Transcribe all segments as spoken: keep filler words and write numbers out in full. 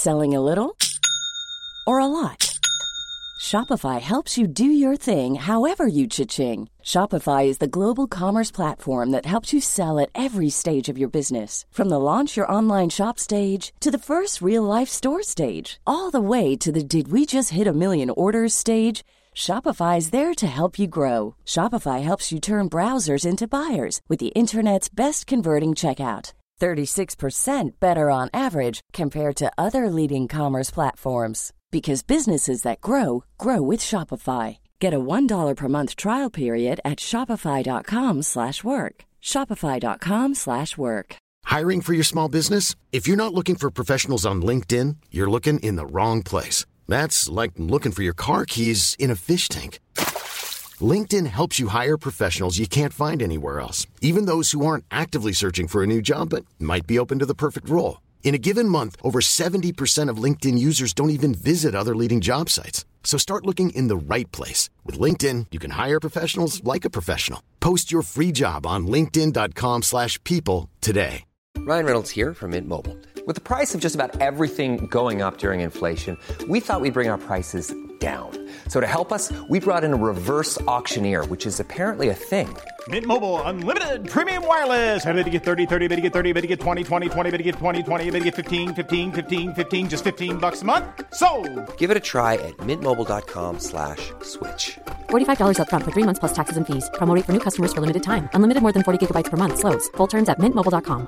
Selling a little or a lot? Shopify helps you do your thing however you cha-ching. Shopify is the global commerce platform that helps you sell at every stage of your business. From the launch your online shop stage to the first real-life store stage, all the way to the did we just hit a million orders stage. Shopify is there to help you grow. Shopify helps you turn browsers into buyers with the internet's best converting checkout. thirty-six percent better on average compared to other leading commerce platforms. Because businesses that grow, grow with Shopify. Get a one dollar per month trial period at shopify.com slash work. Shopify.com slash work. Hiring for your small business? If you're not looking for professionals on LinkedIn, you're looking in the wrong place. That's like looking for your car keys in a fish tank. LinkedIn helps you hire professionals you can't find anywhere else, even those who aren't actively searching for a new job but might be open to the perfect role. In a given month, over seventy percent of LinkedIn users don't even visit other leading job sites. So start looking in the right place. With LinkedIn, you can hire professionals like a professional. Post your free job on linkedin.com slash people today. Ryan Reynolds here from Mint Mobile. With the price of just about everything going up during inflation, we thought we'd bring our prices down. So to help us, we brought in a reverse auctioneer, which is apparently a thing. Mint Mobile Unlimited Premium Wireless. How to get thirty, thirty, how to get thirty, how to get twenty, twenty, twenty, how to get twenty, twenty, how to get fifteen, fifteen, fifteen, fifteen, just fifteen bucks a month? Sold! Give it a try at mintmobile.com slash switch. forty-five dollars up front for three months plus taxes and fees. Promo rate for new customers for limited time. Unlimited more than forty gigabytes per month. Slows full terms at mint mobile dot com.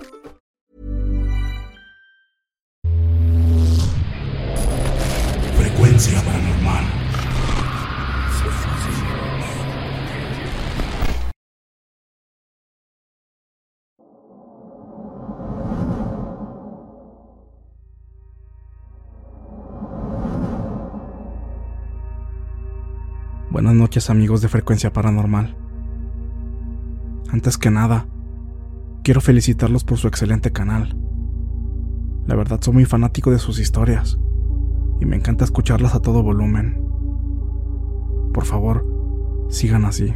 Frecuencia paranormal. Buenas noches, amigos de Frecuencia Paranormal. Antes que nada, quiero felicitarlos por su excelente canal. La verdad, soy muy fanático de sus historias y me encanta escucharlas a todo volumen. Por favor, sigan así.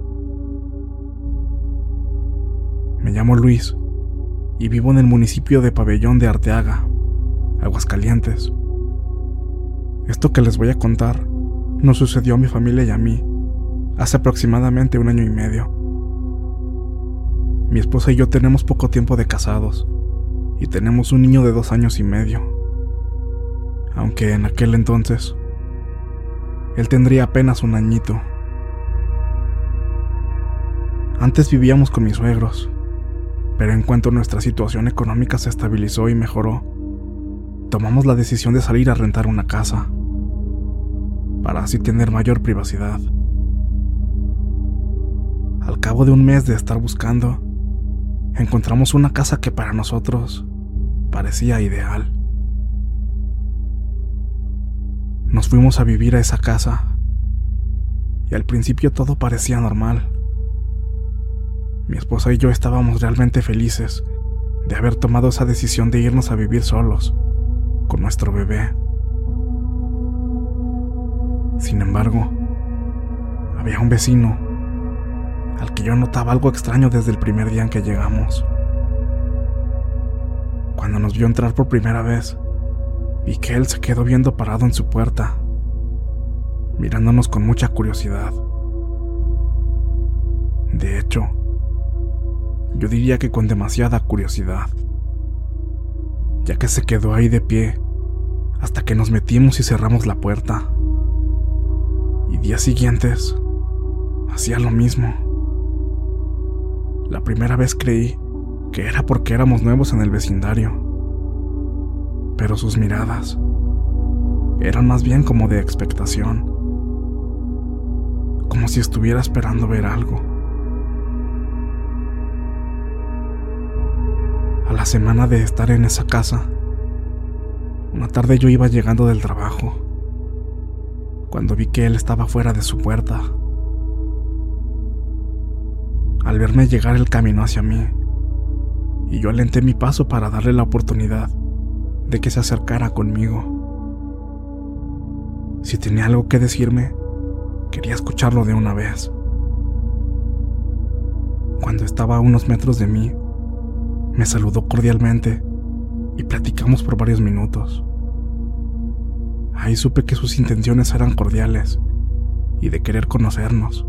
Me llamo Luis y vivo en el municipio de Pabellón de Arteaga, Aguascalientes. Esto que les voy a contar nos sucedió a mi familia y a mí hace aproximadamente un año y medio. Mi esposa y yo tenemos poco tiempo de casados y tenemos un niño de dos años y medio, aunque en aquel entonces él tendría apenas un añito. Antes vivíamos con mis suegros, pero en cuanto nuestra situación económica se estabilizó y mejoró, tomamos la decisión de salir a rentar una casa, para así tener mayor privacidad. Al cabo de un mes de estar buscando, encontramos una casa que para nosotros parecía ideal. Nos fuimos a vivir a esa casa y al principio todo parecía normal. Mi esposa y yo estábamos realmente felices de haber tomado esa decisión de irnos a vivir solos, con nuestro bebé. Sin embargo, había un vecino al que yo notaba algo extraño desde el primer día en que llegamos. Cuando nos vio entrar por primera vez, vi que él se quedó viendo parado en su puerta, mirándonos con mucha curiosidad. De hecho, yo diría que con demasiada curiosidad, ya que se quedó ahí de pie hasta que nos metimos y cerramos la puerta. Y días siguientes hacía lo mismo. La primera vez creí que era porque éramos nuevos en el vecindario, pero sus miradas eran más bien como de expectación, como si estuviera esperando ver algo. A la semana de estar en esa casa, una tarde yo iba llegando del trabajo, cuando vi que él estaba fuera de su puerta. Al verme llegar, él caminó hacia mí, y yo alenté mi paso para darle la oportunidad de que se acercara conmigo. Si tenía algo que decirme, quería escucharlo de una vez. Cuando estaba a unos metros de mí, me saludó cordialmente y platicamos por varios minutos. Ahí supe que sus intenciones eran cordiales y de querer conocernos.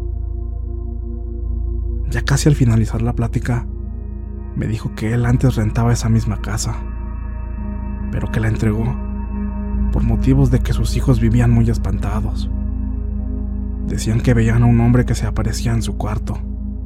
Ya casi al finalizar la plática, me dijo que él antes rentaba esa misma casa, pero que la entregó por motivos de que sus hijos vivían muy espantados. Decían que veían a un hombre que se aparecía en su cuarto.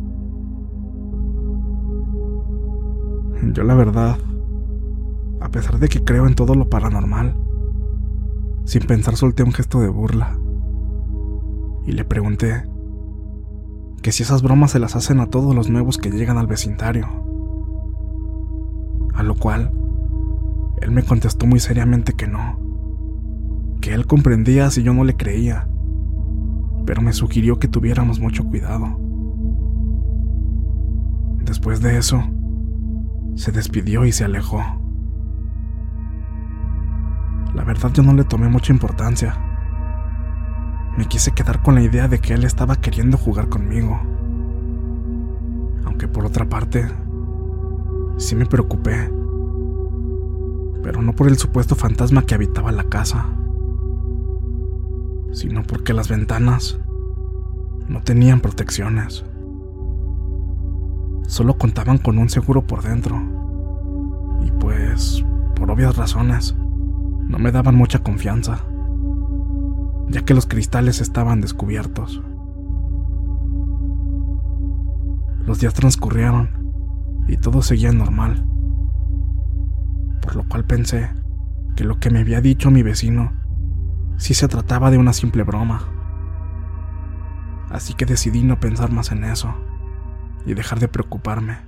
Yo, la verdad, a pesar de que creo en todo lo paranormal, sin pensar solté un gesto de burla y le pregunté que si esas bromas se las hacen a todos los nuevos que llegan al vecindario. A lo cual él me contestó muy seriamente que no, que él comprendía si yo no le creía, pero me sugirió que tuviéramos mucho cuidado. Después de eso, se despidió y se alejó. La verdad, yo no le tomé mucha importancia. Me quise quedar con la idea de que él estaba queriendo jugar conmigo. Aunque por otra parte, sí me preocupé, pero no por el supuesto fantasma que habitaba la casa, sino porque las ventanas no tenían protecciones. Solo contaban con un seguro por dentro, y pues, por obvias razones, no me daban mucha confianza, ya que los cristales estaban descubiertos. Los días transcurrieron y todo seguía normal, por lo cual pensé que lo que me había dicho mi vecino sí se trataba de una simple broma. Así que decidí no pensar más en eso y dejar de preocuparme.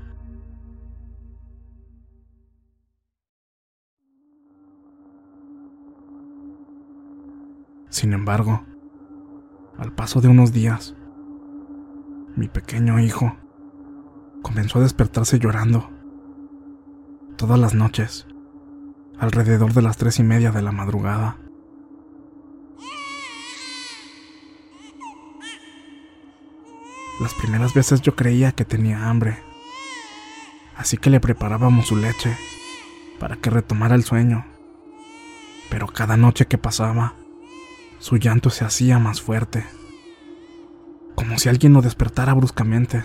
Sin embargo, al paso de unos días, mi pequeño hijo comenzó a despertarse llorando todas las noches, alrededor de las tres y media de la madrugada. Las primeras veces yo creía que tenía hambre, así que le preparábamos su leche para que retomara el sueño, pero cada noche que pasaba, su llanto se hacía más fuerte, como si alguien lo despertara bruscamente.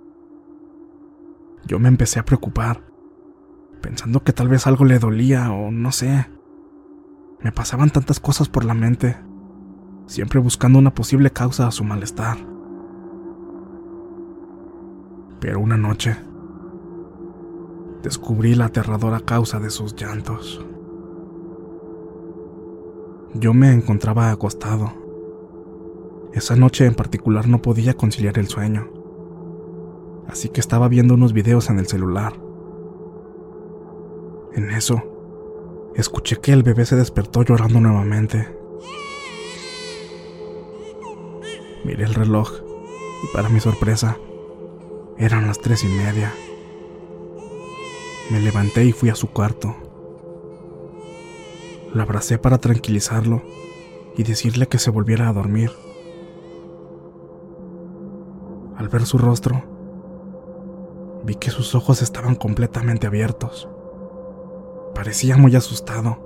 Yo me empecé a preocupar, pensando que tal vez algo le dolía o no sé. Me pasaban tantas cosas por la mente, siempre buscando una posible causa a su malestar. Pero una noche, descubrí la aterradora causa de sus llantos. Yo me encontraba acostado. Esa noche en particular no podía conciliar el sueño, así que estaba viendo unos videos en el celular. En eso, escuché que el bebé se despertó llorando nuevamente. Miré el reloj y, para mi sorpresa, eran las tres y media. Me levanté y fui a su cuarto. Lo abracé para tranquilizarlo y decirle que se volviera a dormir. Al ver su rostro, vi que sus ojos estaban completamente abiertos. Parecía muy asustado.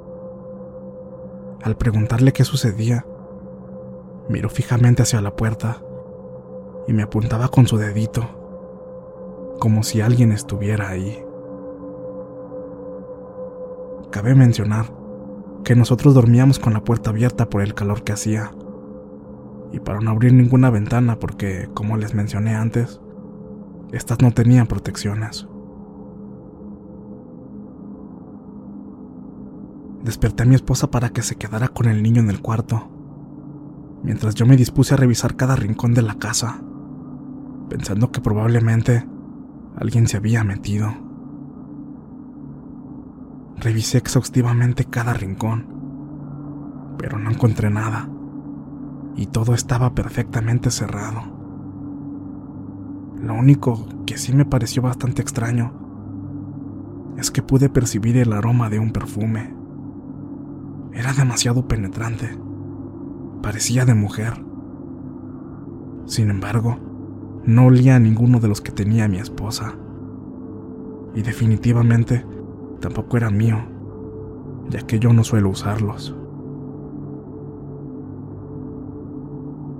Al preguntarle qué sucedía, miró fijamente hacia la puerta y me apuntaba con su dedito, como si alguien estuviera ahí. Cabe mencionar que nosotros dormíamos con la puerta abierta por el calor que hacía, y para no abrir ninguna ventana porque, como les mencioné antes, estas no tenían protecciones. Desperté a mi esposa para que se quedara con el niño en el cuarto, mientras yo me dispuse a revisar cada rincón de la casa, pensando que probablemente alguien se había metido. Revisé exhaustivamente cada rincón, pero no encontré nada, y todo estaba perfectamente cerrado. Lo único que sí me pareció bastante extraño es que pude percibir el aroma de un perfume. Era demasiado penetrante, parecía de mujer. Sin embargo, no olía a ninguno de los que tenía mi esposa, y definitivamente tampoco era mío, ya que yo no suelo usarlos.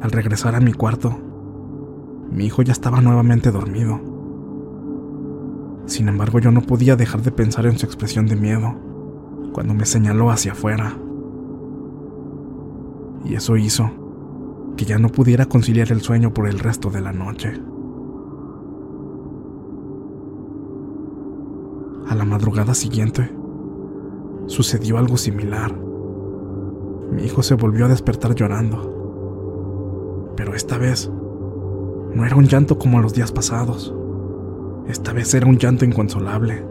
Al regresar a mi cuarto, mi hijo ya estaba nuevamente dormido. Sin embargo, yo no podía dejar de pensar en su expresión de miedo cuando me señaló hacia afuera. Y eso hizo que ya no pudiera conciliar el sueño por el resto de la noche. A la madrugada siguiente, sucedió algo similar. Mi hijo se volvió a despertar llorando. Pero esta vez, no era un llanto como los días pasados. Esta vez era un llanto inconsolable.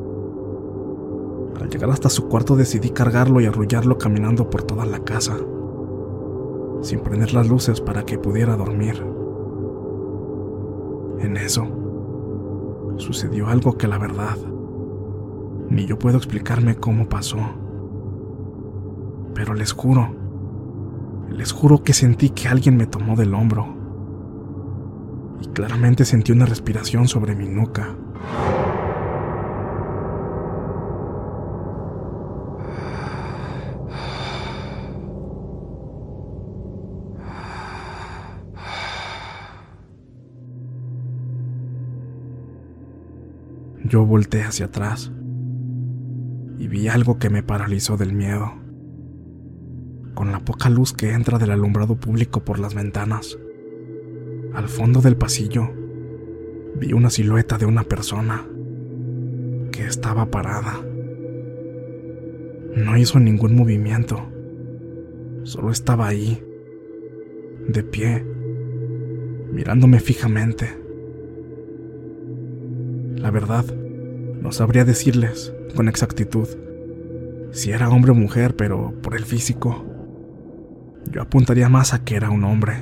Al llegar hasta su cuarto decidí cargarlo y arrullarlo caminando por toda la casa, sin prender las luces para que pudiera dormir. En eso, sucedió algo que la verdad, ni yo puedo explicarme cómo pasó. Pero les juro, les juro que sentí que alguien me tomó del hombro. Y claramente sentí una respiración sobre mi nuca. Yo volteé hacia atrás y vi algo que me paralizó del miedo. Con la poca luz que entra del alumbrado público por las ventanas, al fondo del pasillo, vi una silueta de una persona que estaba parada. No hizo ningún movimiento, solo estaba ahí, de pie, mirándome fijamente. La verdad, no sabría decirles con exactitud si era hombre o mujer, pero por el físico, yo apuntaría más a que era un hombre.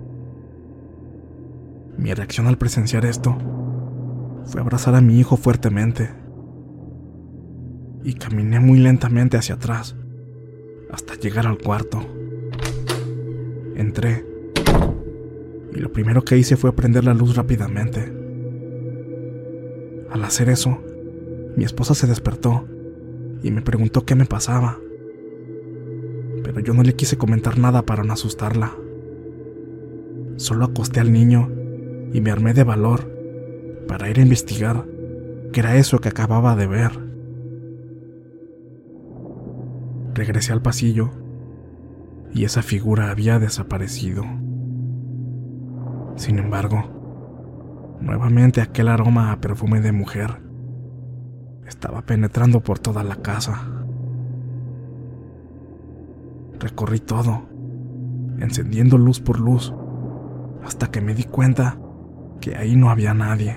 Mi reacción al presenciar esto fue abrazar a mi hijo fuertemente y caminé muy lentamente hacia atrás hasta llegar al cuarto. Entré y lo primero que hice fue prender la luz rápidamente. Al hacer eso, mi esposa se despertó y me preguntó qué me pasaba, pero yo no le quise comentar nada para no asustarla. Solo acosté al niño y me armé de valor para ir a investigar qué era eso que acababa de ver. Regresé al pasillo y esa figura había desaparecido. Sin embargo, nuevamente aquel aroma a perfume de mujer estaba penetrando por toda la casa. Recorrí todo, encendiendo luz por luz, hasta que me di cuenta que ahí no había nadie.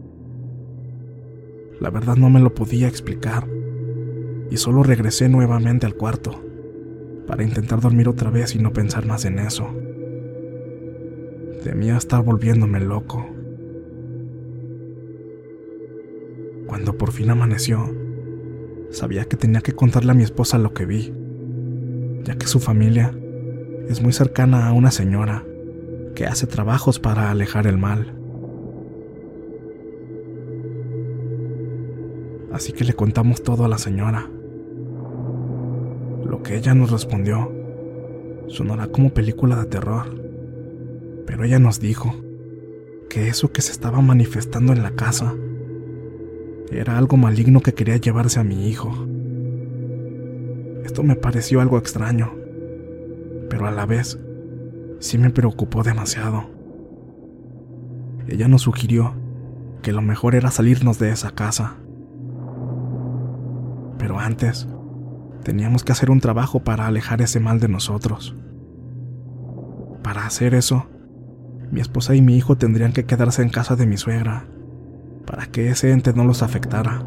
La verdad no me lo podía explicar, y solo regresé nuevamente al cuarto para intentar dormir otra vez y no pensar más en eso. Temía estar volviéndome loco. Cuando por fin amaneció, sabía que tenía que contarle a mi esposa lo que vi, ya que su familia es muy cercana a una señora que hace trabajos para alejar el mal. Así que le contamos todo a la señora. Lo que ella nos respondió sonará como película de terror, pero ella nos dijo que eso que se estaba manifestando en la casa era algo maligno que quería llevarse a mi hijo. Esto me pareció algo extraño, pero a la vez sí me preocupó demasiado. Ella nos sugirió que lo mejor era salirnos de esa casa. Pero antes, teníamos que hacer un trabajo para alejar ese mal de nosotros. Para hacer eso, mi esposa y mi hijo tendrían que quedarse en casa de mi suegra, para que ese ente no los afectara.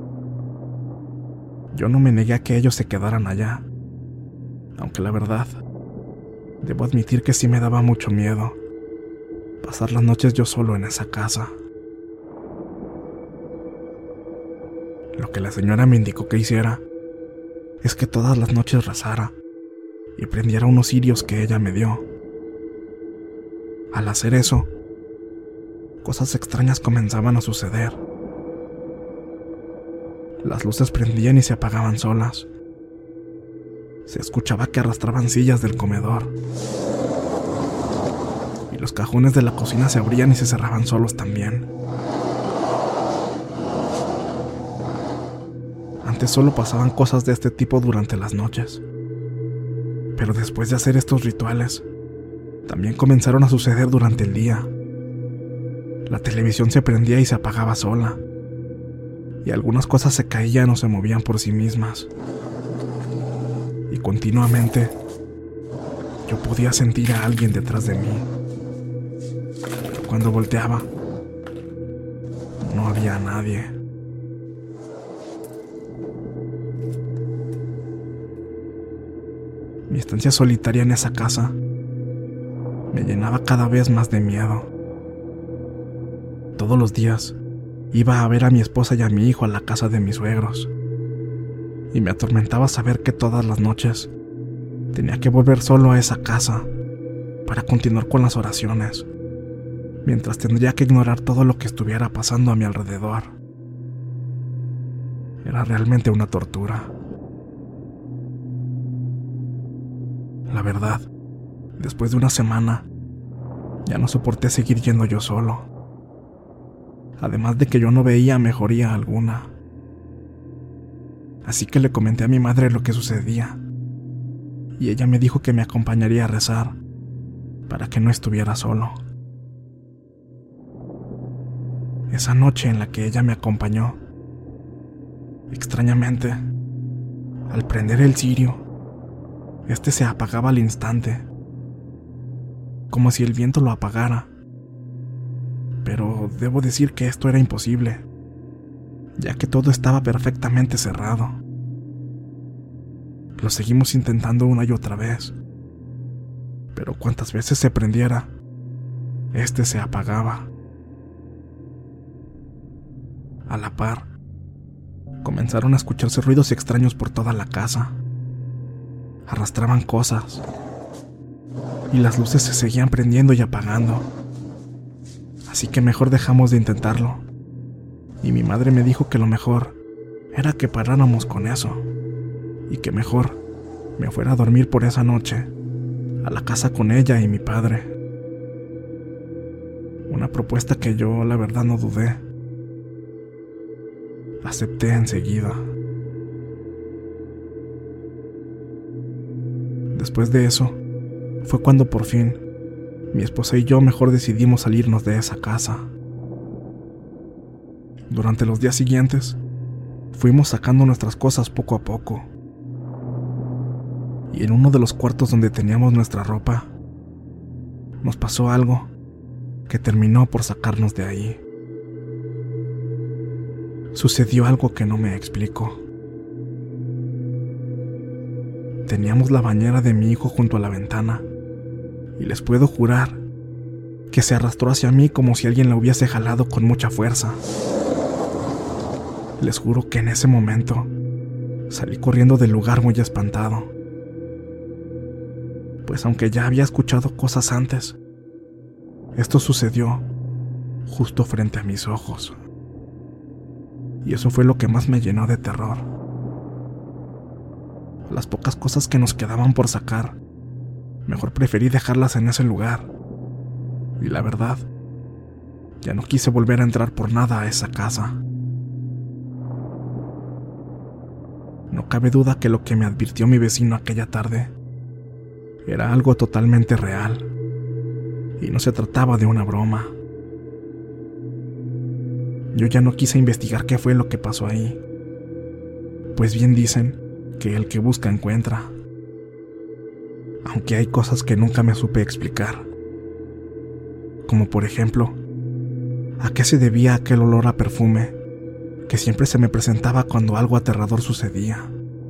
Yo no me negué a que ellos se quedaran allá, aunque la verdad, debo admitir que sí me daba mucho miedo pasar las noches yo solo en esa casa. Lo que la señora me indicó que hiciera es que todas las noches rezara y prendiera unos cirios que ella me dio. Al hacer eso, cosas extrañas comenzaban a suceder. Las luces prendían y se apagaban solas. Se escuchaba que arrastraban sillas del comedor. Los cajones de la cocina se abrían y se cerraban solos también. Antes solo pasaban cosas de este tipo durante las noches. Pero después de hacer estos rituales, también comenzaron a suceder durante el día. La televisión se prendía y se apagaba sola, y algunas cosas se caían o se movían por sí mismas. Y continuamente, yo podía sentir a alguien detrás de mí. Pero cuando volteaba, no había nadie. Mi estancia solitaria en esa casa me llenaba cada vez más de miedo. Todos los días iba a ver a mi esposa y a mi hijo a la casa de mis suegros, y me atormentaba saber que todas las noches tenía que volver solo a esa casa para continuar con las oraciones, mientras tendría que ignorar todo lo que estuviera pasando a mi alrededor. Era realmente una tortura. La verdad, después de una semana, ya no soporté seguir yendo yo solo. Además de que yo no veía mejoría alguna. Así que le comenté a mi madre lo que sucedía, y ella me dijo que me acompañaría a rezar para que no estuviera solo. Esa noche en la que ella me acompañó, extrañamente, al prender el cirio, este se apagaba al instante, como si el viento lo apagara. Pero debo decir que esto era imposible, ya que todo estaba perfectamente cerrado. Lo seguimos intentando una y otra vez, pero cuantas veces se prendiera, este se apagaba. A la par, comenzaron a escucharse ruidos extraños por toda la casa. Arrastraban cosas, y las luces se seguían prendiendo y apagando. Así que mejor dejamos de intentarlo, y mi madre me dijo que lo mejor era que paráramos con eso, y que mejor me fuera a dormir por esa noche a la casa con ella y mi padre. Una propuesta que yo, la verdad, no dudé. Acepté enseguida. Después de eso, fue cuando por fin mi esposa y yo mejor decidimos salirnos de esa casa. Durante los días siguientes, fuimos sacando nuestras cosas poco a poco. Y en uno de los cuartos donde teníamos nuestra ropa, nos pasó algo que terminó por sacarnos de ahí. Sucedió algo que no me explico. Teníamos la bañera de mi hijo junto a la ventana, y les puedo jurar que se arrastró hacia mí como si alguien la hubiese jalado con mucha fuerza. Les juro que en ese momento salí corriendo del lugar muy espantado, pues aunque ya había escuchado cosas antes, esto sucedió justo frente a mis ojos, y eso fue lo que más me llenó de terror. Las pocas cosas que nos quedaban por sacar, mejor preferí dejarlas en ese lugar. Y la verdad, ya no quise volver a entrar por nada a esa casa. No cabe duda que lo que me advirtió mi vecino aquella tarde era algo totalmente real, y no se trataba de una broma. Yo ya no quise investigar qué fue lo que pasó ahí, pues bien dicen que el que busca encuentra. Aunque hay cosas que nunca me supe explicar, como por ejemplo, ¿a qué se debía aquel olor a perfume que siempre se me presentaba cuando algo aterrador sucedía?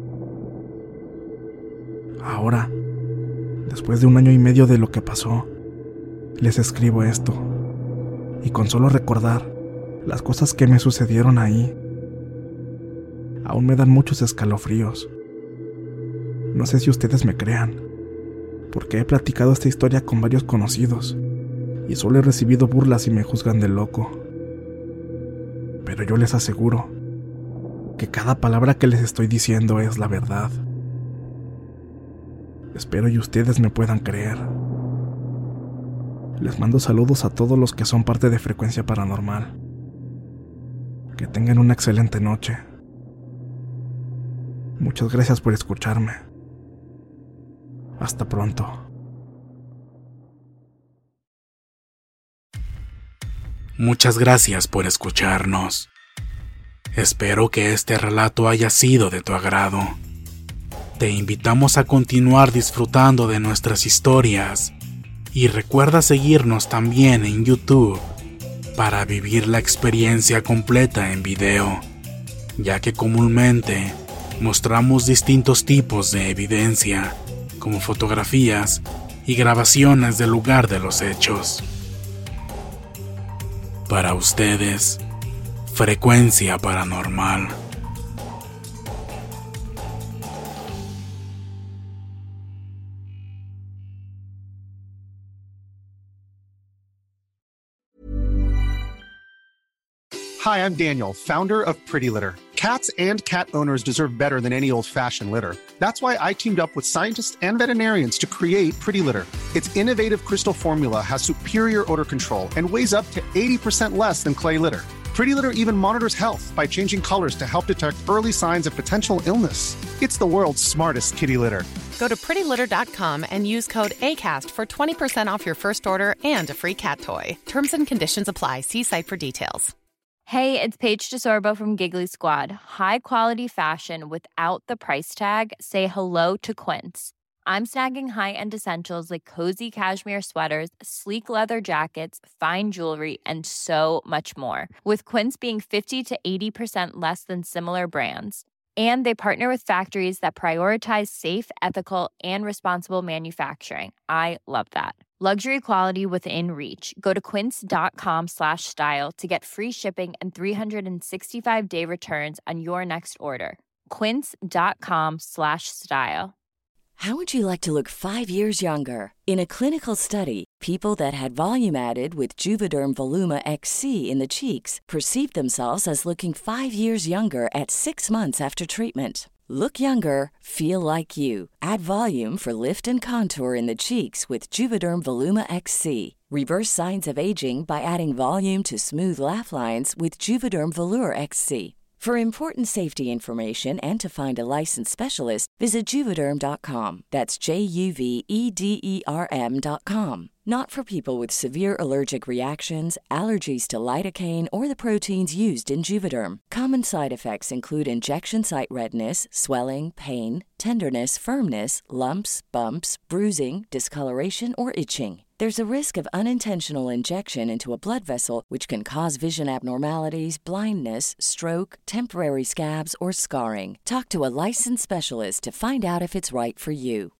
Ahora, después de un año y medio de lo que pasó, les escribo esto, y con solo recordar las cosas que me sucedieron ahí, aún me dan muchos escalofríos. No sé si ustedes me crean, porque he platicado esta historia con varios conocidos, y solo he recibido burlas y me juzgan de loco. Pero yo les aseguro que cada palabra que les estoy diciendo es la verdad. Espero y ustedes me puedan creer. Les mando saludos a todos los que son parte de Frecuencia Paranormal. Que tengan una excelente noche. Muchas gracias por escucharme. Hasta pronto. Muchas gracias por escucharnos. Espero que este relato haya sido de tu agrado. Te invitamos a continuar disfrutando de nuestras historias y recuerda seguirnos también en YouTube para vivir la experiencia completa en video, ya que comúnmente mostramos distintos tipos de evidencia, como fotografías y grabaciones del lugar de los hechos. Para ustedes, Frecuencia Paranormal. Hi, I'm Daniel, founder of Pretty Litter. Cats and cat owners deserve better than any old-fashioned litter. That's why I teamed up with scientists and veterinarians to create Pretty Litter. Its innovative crystal formula has superior odor control and weighs up to eighty percent less than clay litter. Pretty Litter even monitors health by changing colors to help detect early signs of potential illness. It's the world's smartest kitty litter. Go to pretty litter dot com and use code ACAST for twenty percent off your first order and a free cat toy. Terms and conditions apply. See site for details. Hey, it's Paige DeSorbo from Giggly Squad. High quality fashion without the price tag. Say hello to Quince. I'm snagging high-end essentials like cozy cashmere sweaters, sleek leather jackets, fine jewelry, and so much more. With Quince being fifty to eighty percent less than similar brands. And they partner with factories that prioritize safe, ethical, and responsible manufacturing. I love that. Luxury quality within reach. Go to quince.com slash style to get free shipping and three sixty-five day returns on your next order. Quince.com slash style. How would you like to look five years younger? In a clinical study, people that had volume added with Juvederm Voluma X C in the cheeks perceived themselves as looking five years younger at six months after treatment. Look younger, feel like you. Add volume for lift and contour in the cheeks with Juvederm Voluma X C. Reverse signs of aging by adding volume to smooth laugh lines with Juvederm Volure X C. For important safety information and to find a licensed specialist, visit Juvederm dot com. That's J U V E D E R M dot com. Not for people with severe allergic reactions, allergies to lidocaine, or the proteins used in Juvederm. Common side effects include injection site redness, swelling, pain, tenderness, firmness, lumps, bumps, bruising, discoloration, or itching. There's a risk of unintentional injection into a blood vessel, which can cause vision abnormalities, blindness, stroke, temporary scabs, or scarring. Talk to a licensed specialist to find out if it's right for you.